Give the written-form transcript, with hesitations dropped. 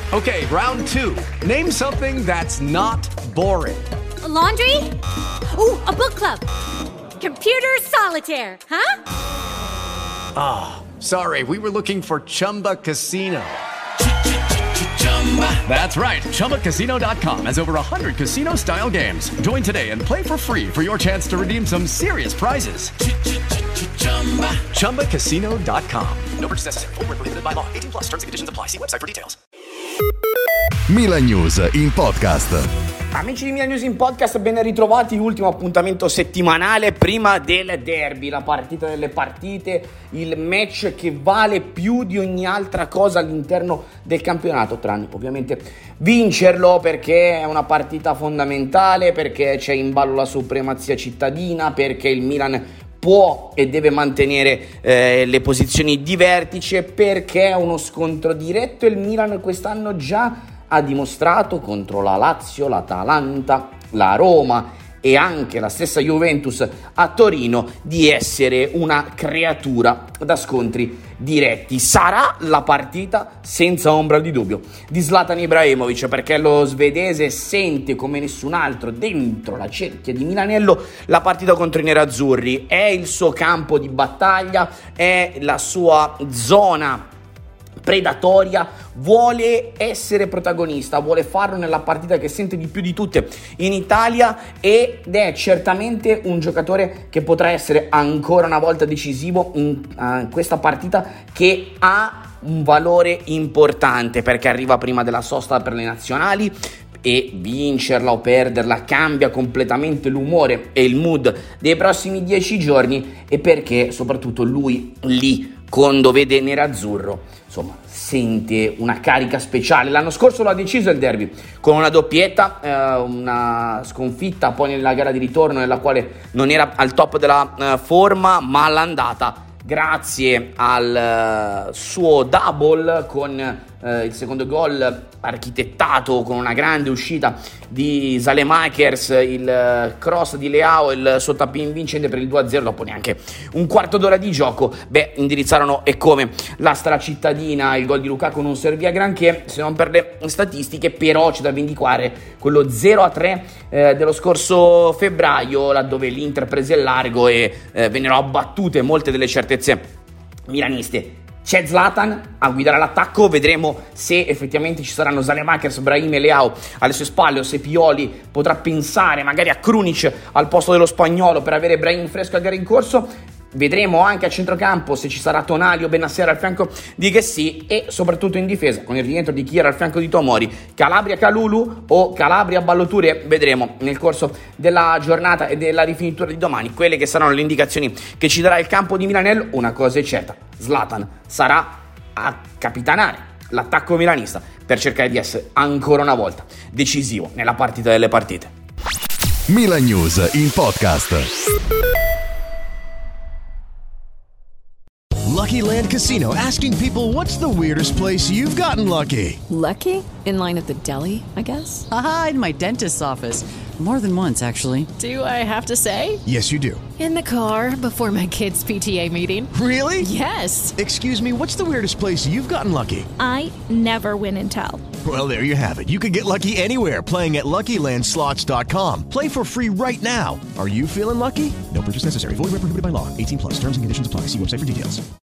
Okay, round 2. Name something that's not boring. A laundry? Ooh, a book club. Computer solitaire, huh? Ah, sorry, we were looking for Chumba Casino. That's right, ChumbaCasino.com has over 100 casino-style games. Join today and play for free for your chance to redeem some serious prizes. ChumbaCasino.com. No purchase necessary. Void where prohibited by law. 18+ terms and conditions apply. See website for details. Milan News in podcast. Amici di Milan News in podcast, ben ritrovati. L'ultimo appuntamento settimanale prima del derby, la partita delle partite, il match che vale più di ogni altra cosa all'interno del campionato, tranne ovviamente vincerlo, perché è una partita fondamentale, perché c'è in ballo la supremazia cittadina, perché il Milan può e deve mantenere le posizioni di vertice, perché è uno scontro diretto e il Milan quest'anno già ha dimostrato contro la Lazio, l'Atalanta, la Roma e anche la stessa Juventus a Torino di essere una creatura da scontri diretti. Sarà la partita senza ombra di dubbio di Zlatan Ibrahimovic, perché lo svedese sente come nessun altro dentro la cerchia di Milanello la partita contro i nerazzurri. È il suo campo di battaglia, è la sua zona predatoria, vuole essere protagonista, vuole farlo nella partita che sente di più di tutte in Italia, ed è certamente un giocatore che potrà essere ancora una volta decisivo in questa partita, che ha un valore importante perché arriva prima della sosta per le nazionali, e vincerla o perderla cambia completamente l'umore e il mood dei prossimi 10 giorni, e perché soprattutto lui lì, quando vede nerazzurro, insomma, sente una carica speciale. L'anno scorso lo ha deciso il derby con una doppietta, una sconfitta poi nella gara di ritorno nella quale non era al top della forma, ma all'andata, grazie al suo double con il secondo gol architettato con una grande uscita di Saelemaekers, il cross di Leao, il suo tap-in vincente per il 2-0 dopo neanche un quarto d'ora di gioco. Indirizzarono e come la stracittadina. Il gol di Lukaku non servì a granché se non per le statistiche, però c'è da vendicare quello 0-3 dello scorso febbraio, laddove l'Inter prese il largo e vennero abbattute molte delle certezze milaniste. C'è Zlatan a guidare l'attacco, vedremo se effettivamente ci saranno Saelemaekers, Brahim e Leao alle sue spalle, o se Pioli potrà pensare magari a Krunic al posto dello spagnolo per avere Brahim fresco a gara in corso. Vedremo anche a centrocampo se ci sarà Tonali o Bennacer al fianco di Guessy, e soprattutto in difesa con il rientro di Kier al fianco di Tomori, Calabria Kalulu o Calabria Ballo-Touré. Vedremo nel corso della giornata e della rifinitura di domani quelle che saranno le indicazioni che ci darà il campo di Milanello. Una cosa è certa: Zlatan sarà a capitanare l'attacco milanista per cercare di essere ancora una volta decisivo nella partita delle partite. Milan News in podcast. Lucky Land Casino, asking people, what's the weirdest place you've gotten lucky? Lucky? In line at the deli, I guess? Aha, in my dentist's office. More than once, actually. Do I have to say? Yes, you do. In the car before my kids' PTA meeting. Really? Yes. Excuse me, what's the weirdest place you've gotten lucky? I never win and tell. Well, there you have it. You can get lucky anywhere, playing at LuckyLandSlots.com. Play for free right now. Are you feeling lucky? No purchase necessary. Void where prohibited by law. 18+. Terms and conditions apply. See website for details.